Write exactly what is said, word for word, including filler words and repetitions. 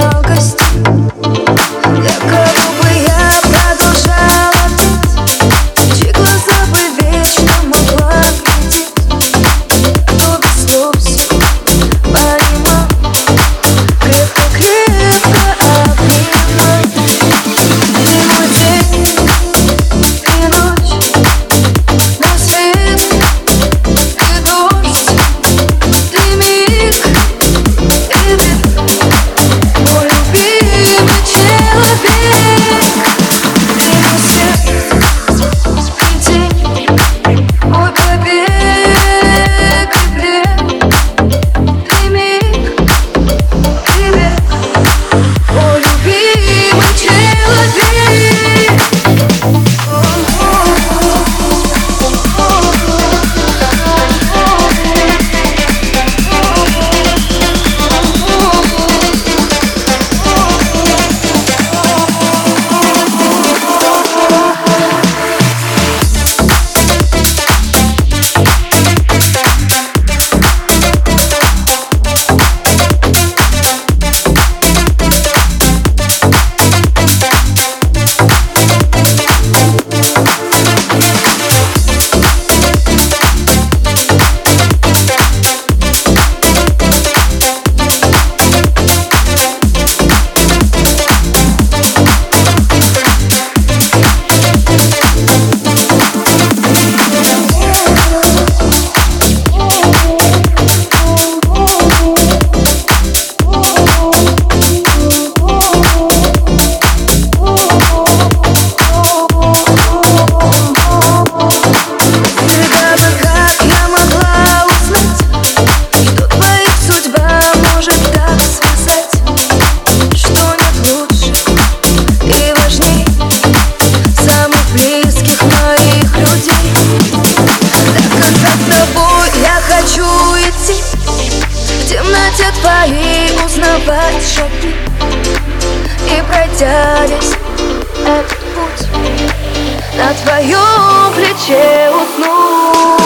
жалкость. Якобы бы я продолжала петь, чьи глаза бы вечно могла глядеть. Кто без слов все понимал, крепко-крепко обнимал. Ты мой день и ночь, мой свет и дождь, ты миг и век, мой любимый человек. Ты мой свет и день, мой побег и плен, ты миг и век, мой любимый человек. В темноте твоей узнавать шаги и, пройдя весь этот путь, на твоем плече уснуть.